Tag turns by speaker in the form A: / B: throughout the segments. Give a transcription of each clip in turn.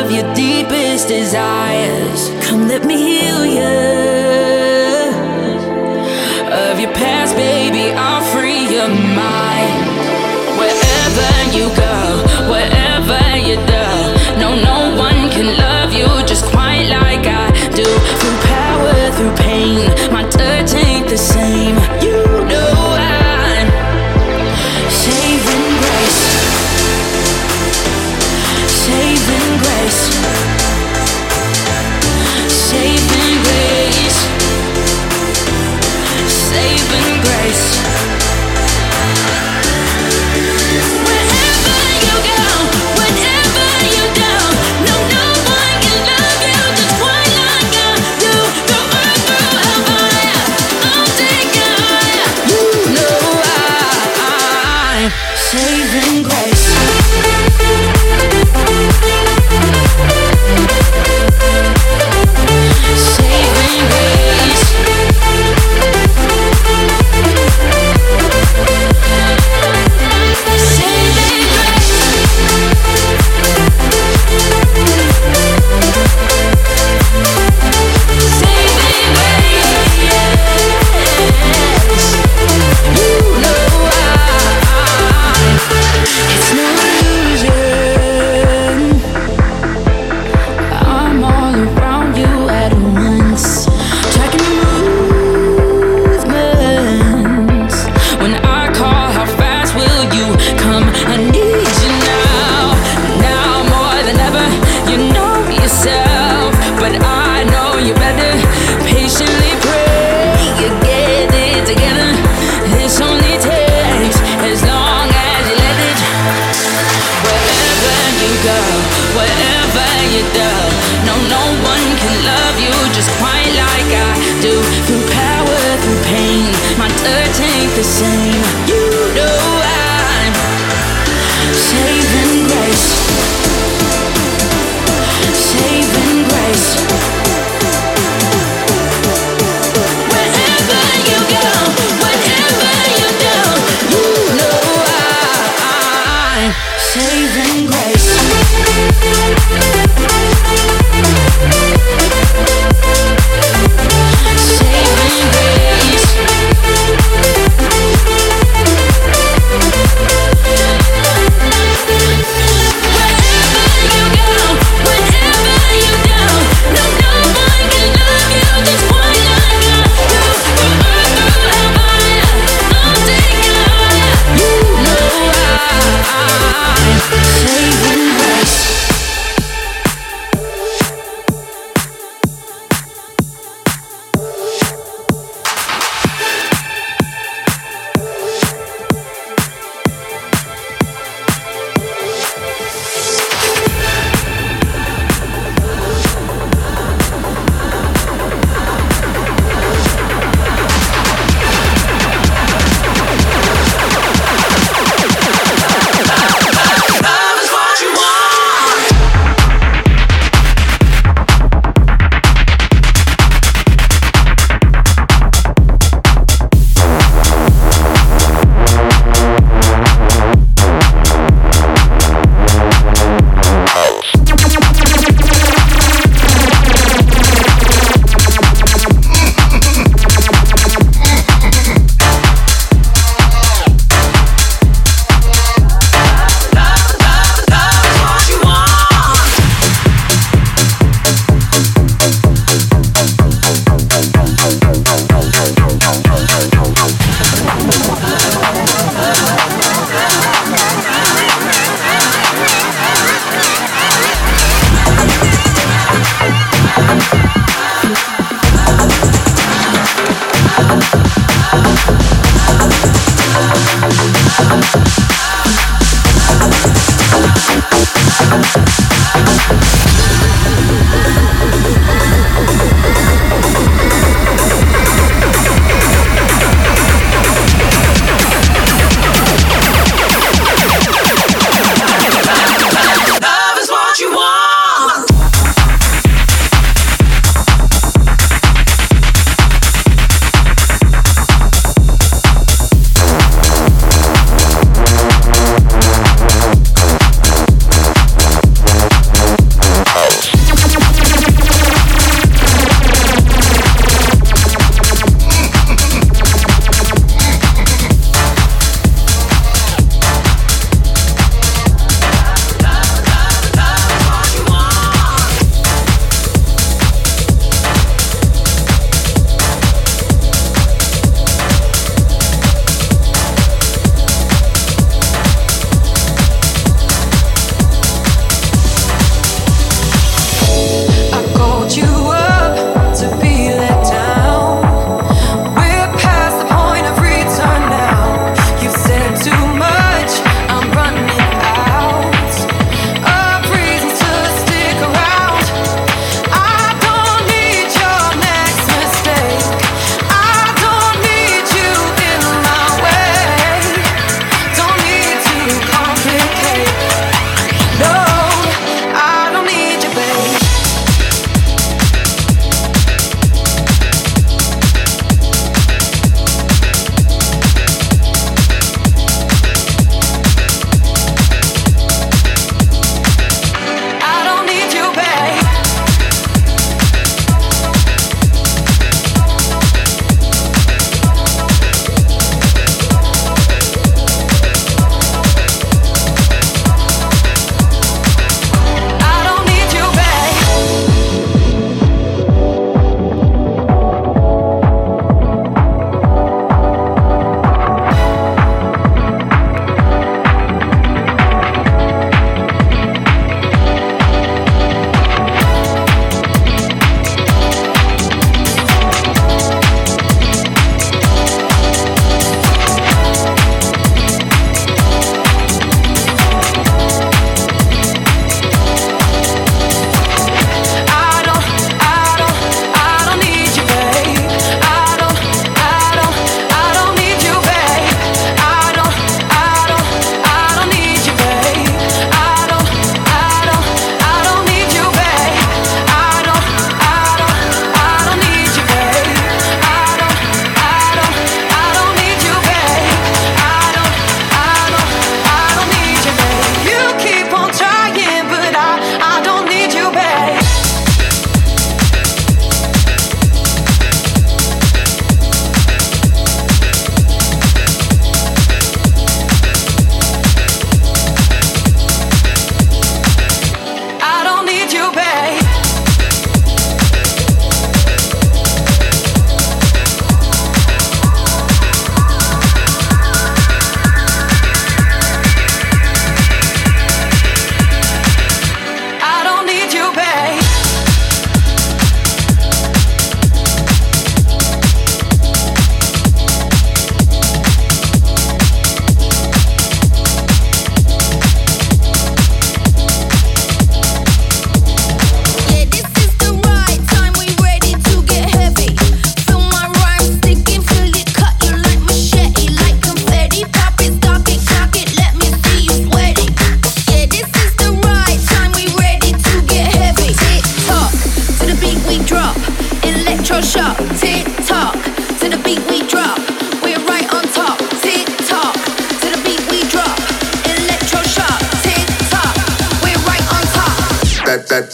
A: of your deepest desires. Come let me heal you. Of your past, baby, I'll free your mind. Wherever you go, wherever you do, no one can love you just quite like I do. Through power, through pain, my touch ain't the same. You know I'm saving grace. Saving grace. Saving grace. Saving grace. Wherever you go, whatever you do, no one can love you just quite like I do. Through earth, through hellfire, I'll take you higher. You know I'm saving grace. Saving grace. Wherever you do, no one can love you just quite like I do. Through power, through pain, my touch ain't the same. You know I'm saving grace. Saving grace. Wherever you go, whatever you do, you know I'm saving grace. Saving grace.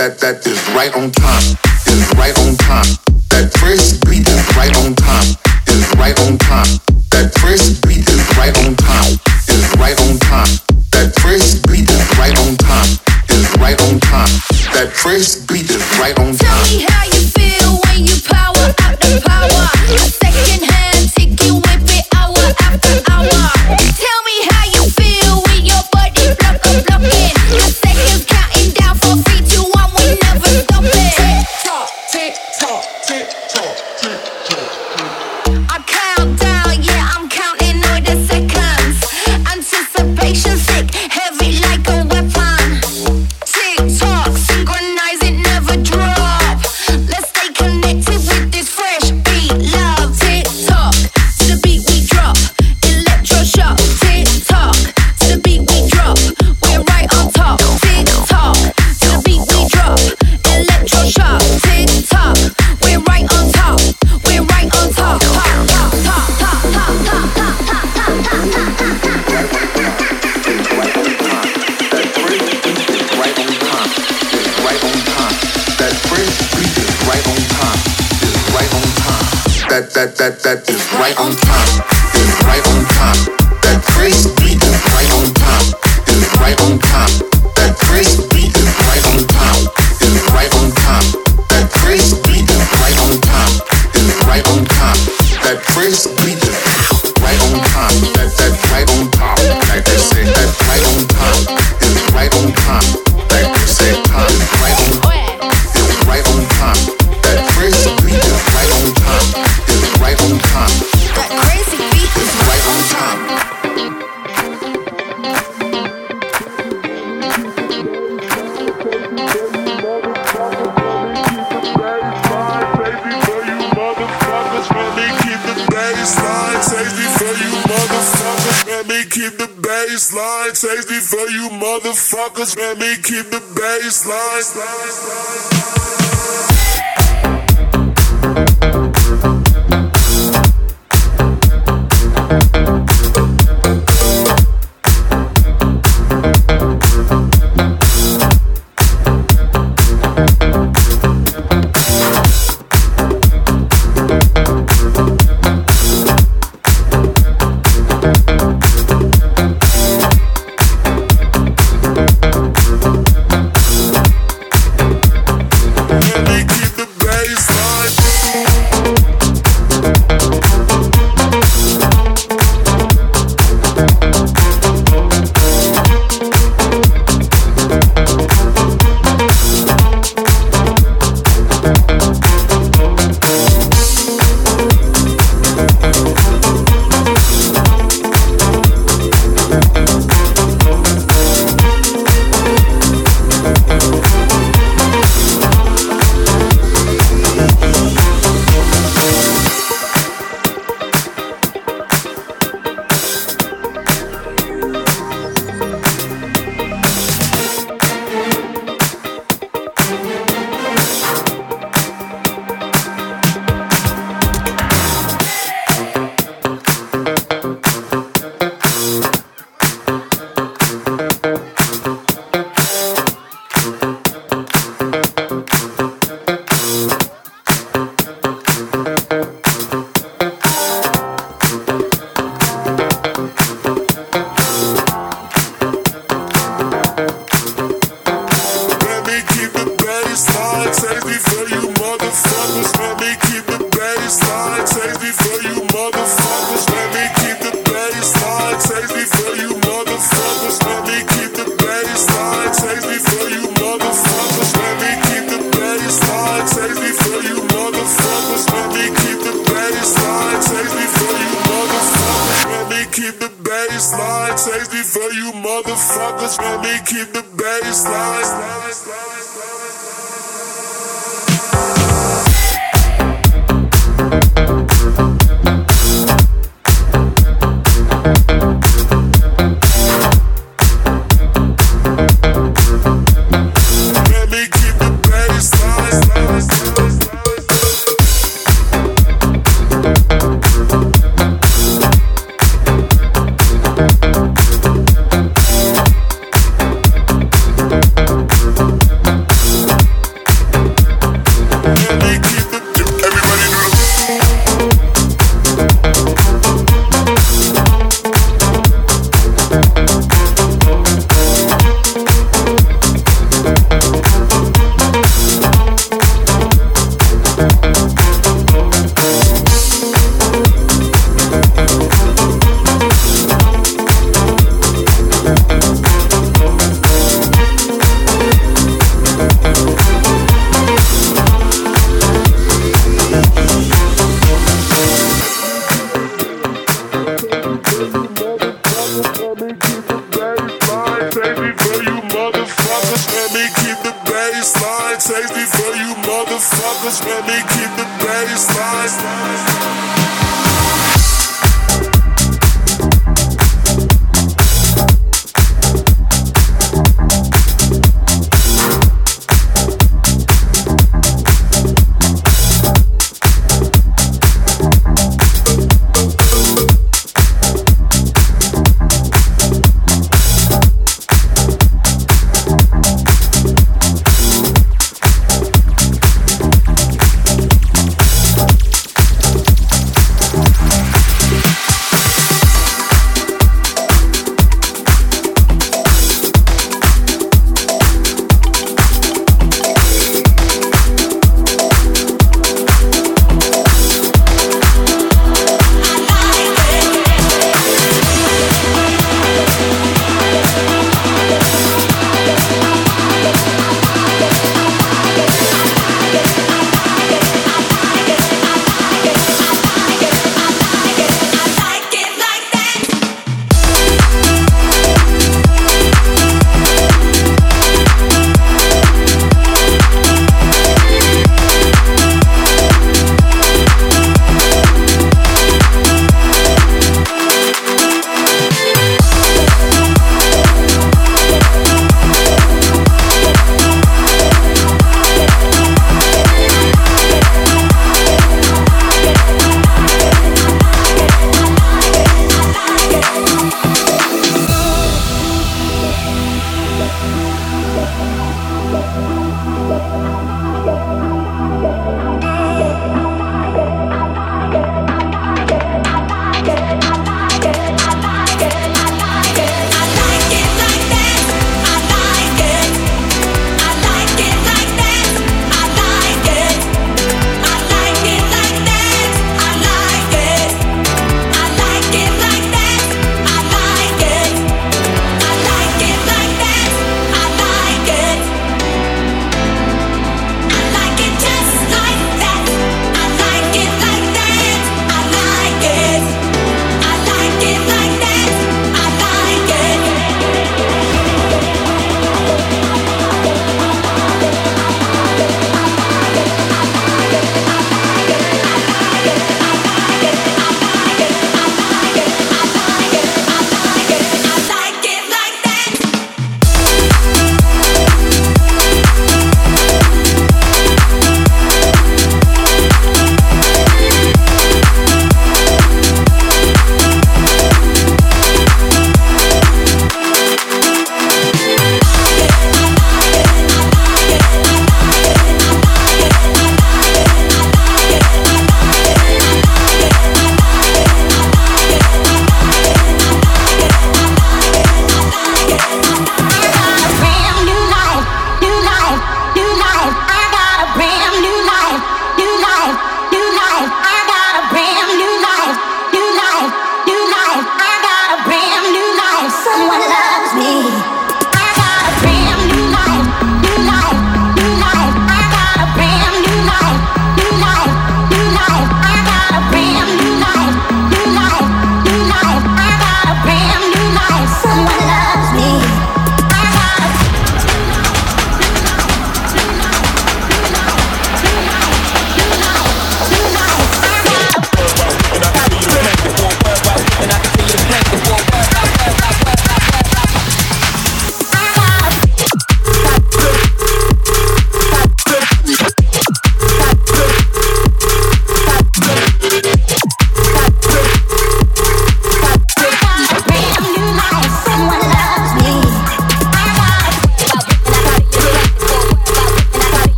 B: that is right on time, is right on time. That first beat is right on time, is right on time. That first beat is right on time, is right on time. That first beat is right on time, is right on time. That first beat is right on time.
A: Tell me how you feel when you power up the power. A second hand ticket whip it hour after hour. Tell me how you feel with your body blocking. The seconds counting down from 3, 2, 1. We never stop it. Tick tock, tick tock, tick tock, tick tock. I count down, yeah, I'm counting all the seconds. Anticipation sick, heavy like a weapon. Tick tock, synchronize it, never drop. Let's stay connected with this fresh beat, love. Tick tock, to the beat we drop. Electroshock, tick tock, to the beat we drop. We're right on top. Tick tock, to the beat we drop. Electroshock, tick tock, we're right on top. We're right on top. Top, top, top, top, top, top, top, top, top, top, top.
B: That is right on time, is right on time. That first beat is right on time, is right on time. That first beat is right on time, is right on time. That first beat is right on time, is right on time. That first beat is right on time. That right on top, like they say. That right on time is right on time, like they say. Time is right on, is right on time. That first beat is right on time, is right on time.
A: That crazy beat
B: is right on time.
C: Keep the baseline safety for you motherfuckers. Let me keep the baseline. motherfuckers, let me keep the bass line.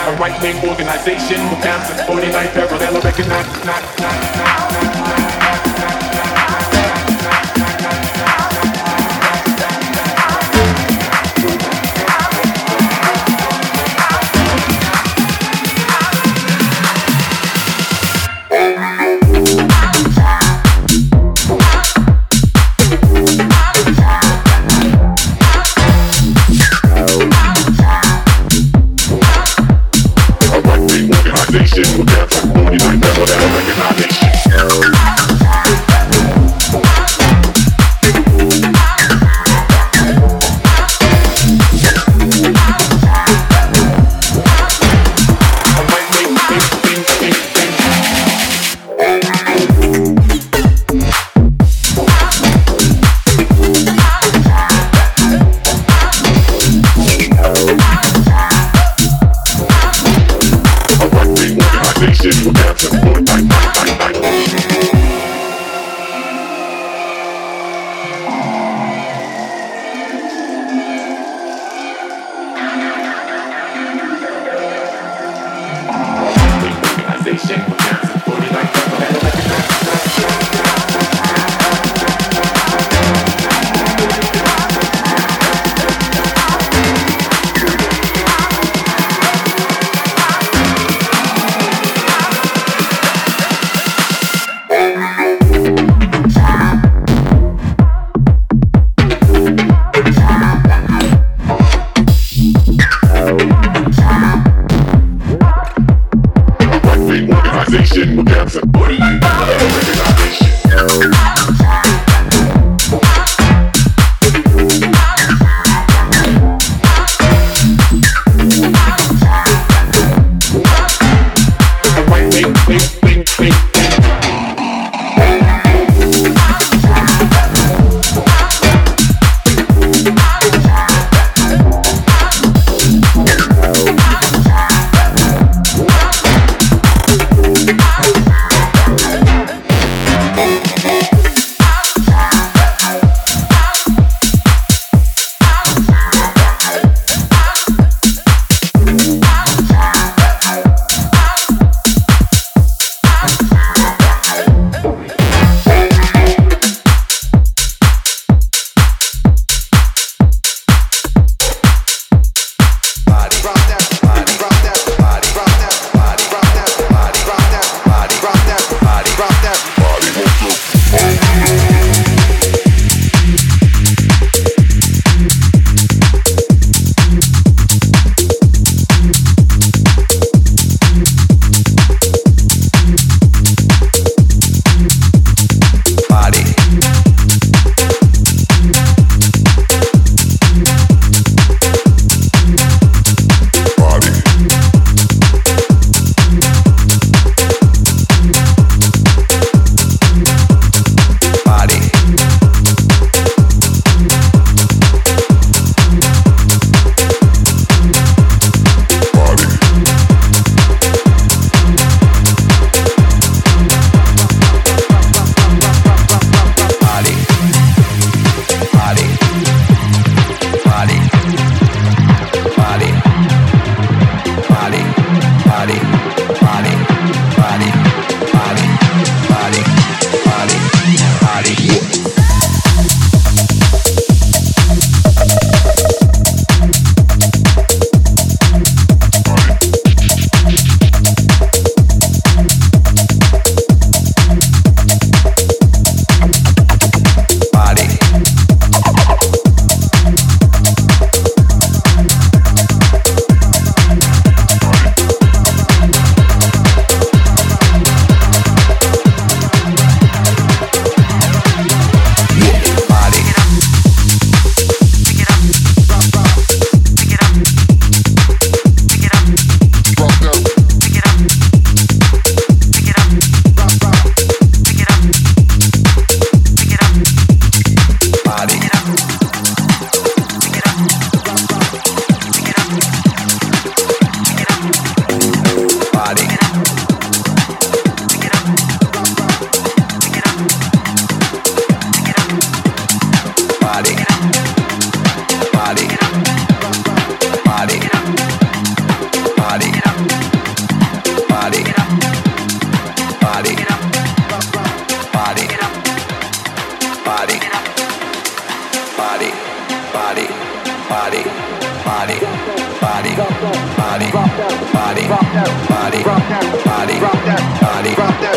D: a right-wing organization with plans to 49 parallel recognize.
C: Organization with plans to 49 parallel recognize.
E: body, body, body, body, body, body, body, body, body, body, body,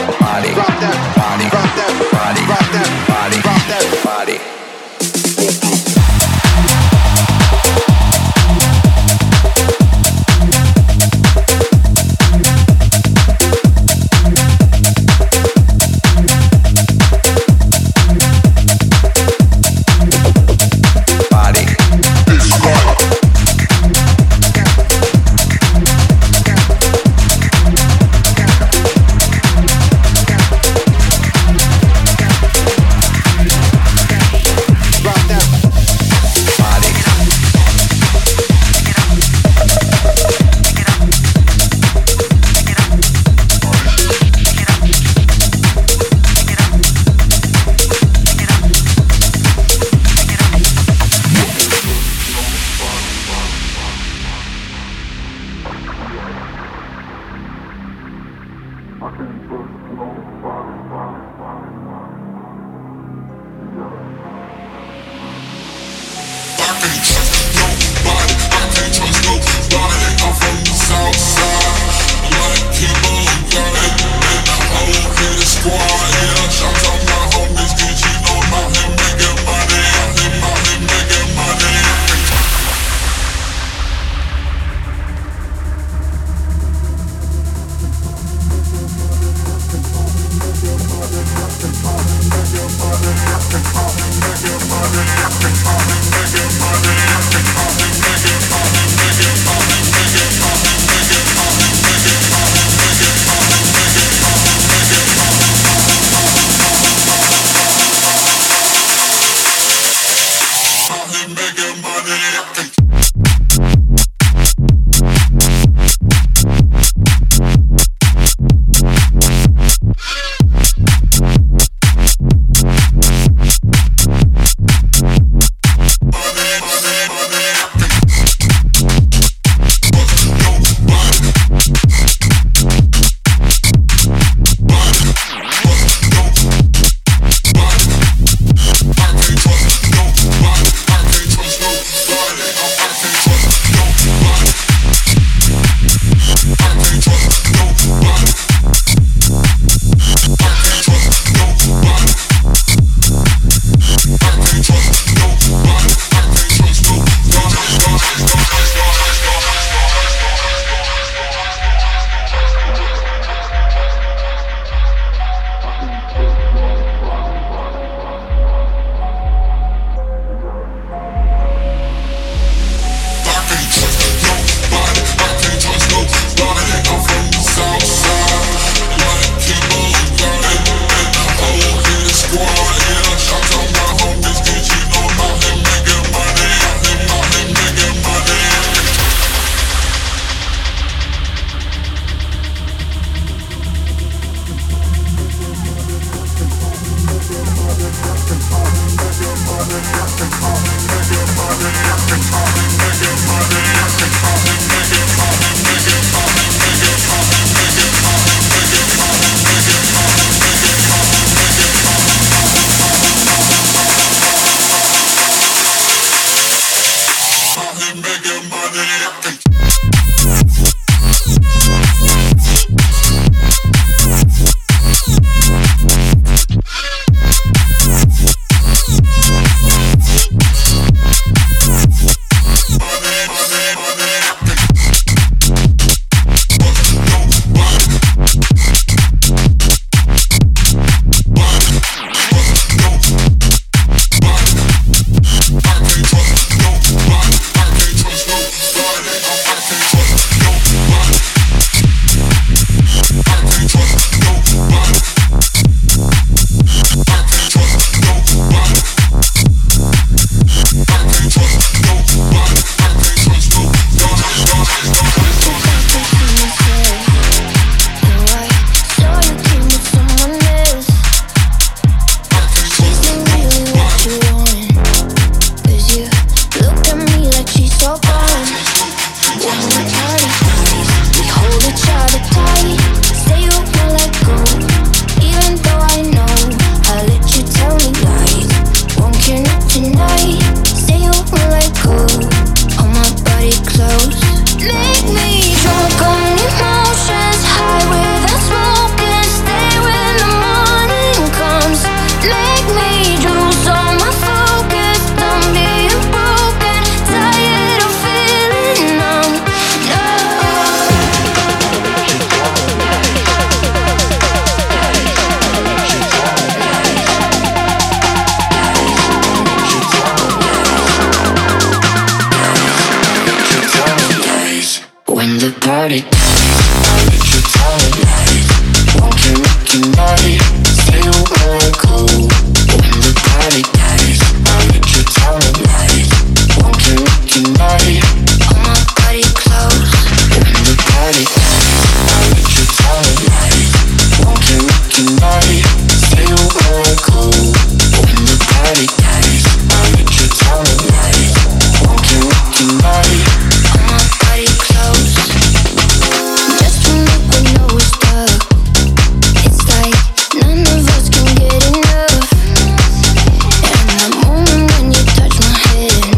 E: body, body, body.
B: party. I'll let you tell it right. Won't you look tonight? Say you wanna go when the party dies. I'll let you tell it right. Won't you look tonight? Hold my body close when the party dies. I'll let you tell it right. Won't you look tonight? Say you wanna go when the party dies. I'll let you tell it right. Won't you look tonight? Hold my body close. Just when we know we're stuck, it's like none of us can get enough. And the moment when you touch my head,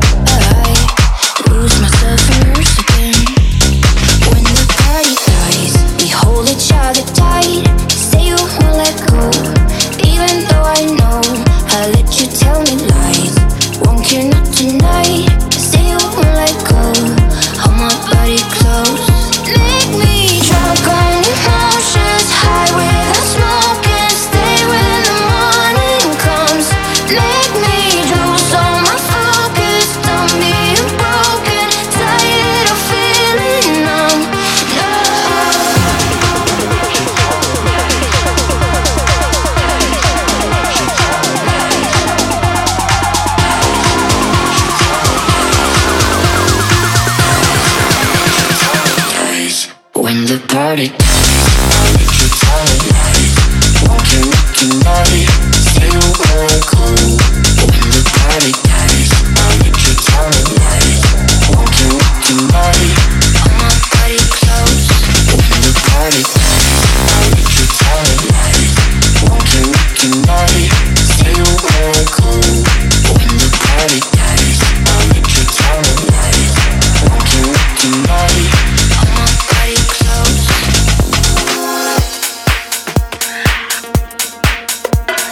B: I lose myself immersed again. When the party dies, we hold each other tight. Say you won't let go, even though I know I'll let you tell me lies. Won't care not tonight. Say you won't let go, hold my body close. Make me drunk on emotions, high with the smoke, and stay when the morning comes. Make me lose all my focus, done being broken, tired of feeling numb. No. When the party I'll let you tell it right. Won't you look tonight? Say you wanna go when the party dies. I'll let you tell it right. Won't you look tonight? Hold my body close when the party dies. I'll let you tell it right. Won't you look tonight? Say you wanna go when the party dies. I'll let you tell it right. Won't you look tonight? Hold my body close.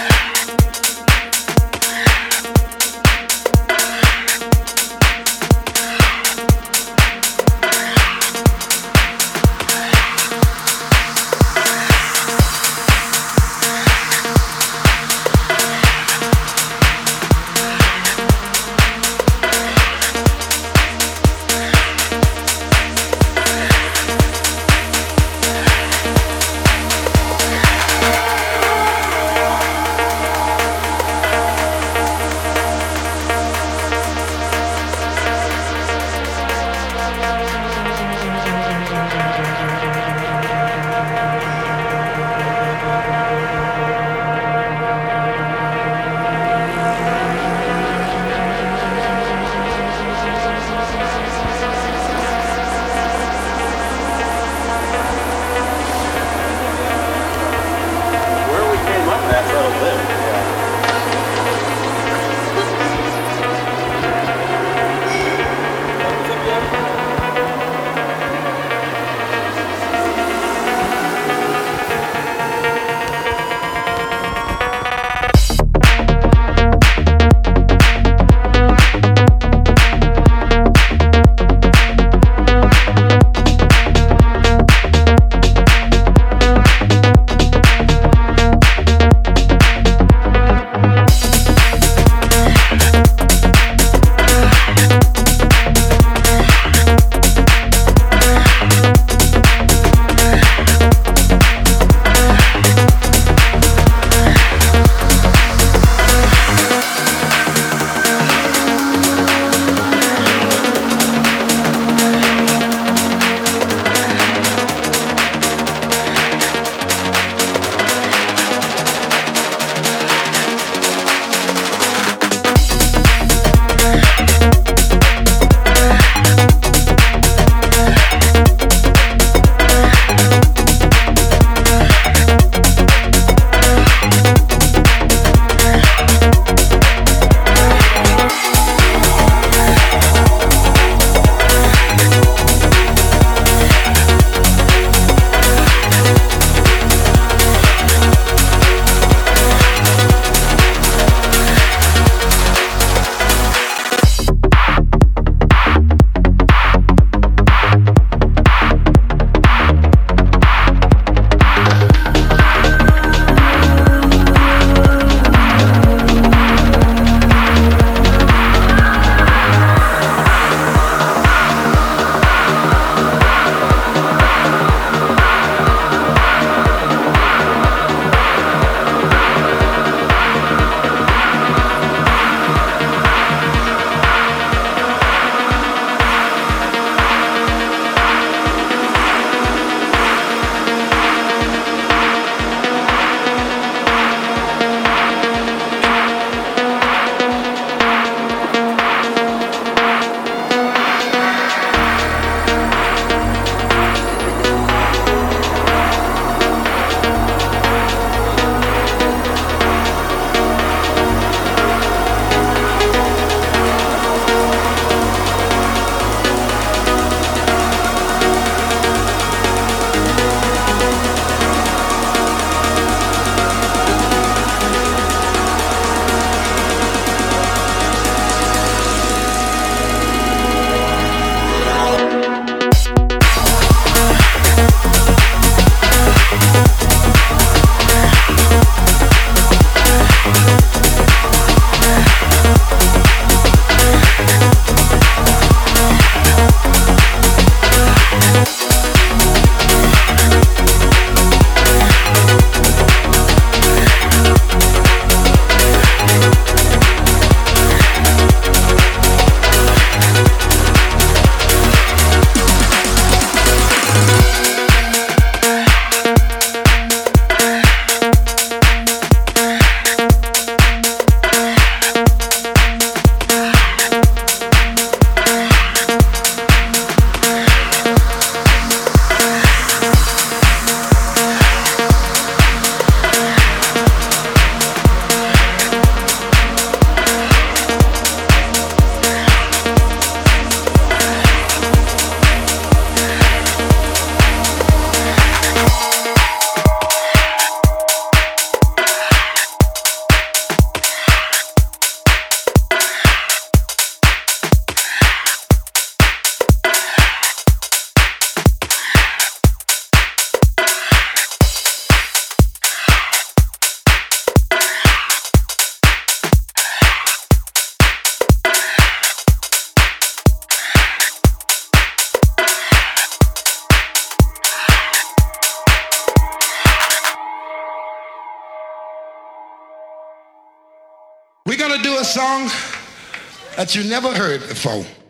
F: gonna do a song that you never heard before.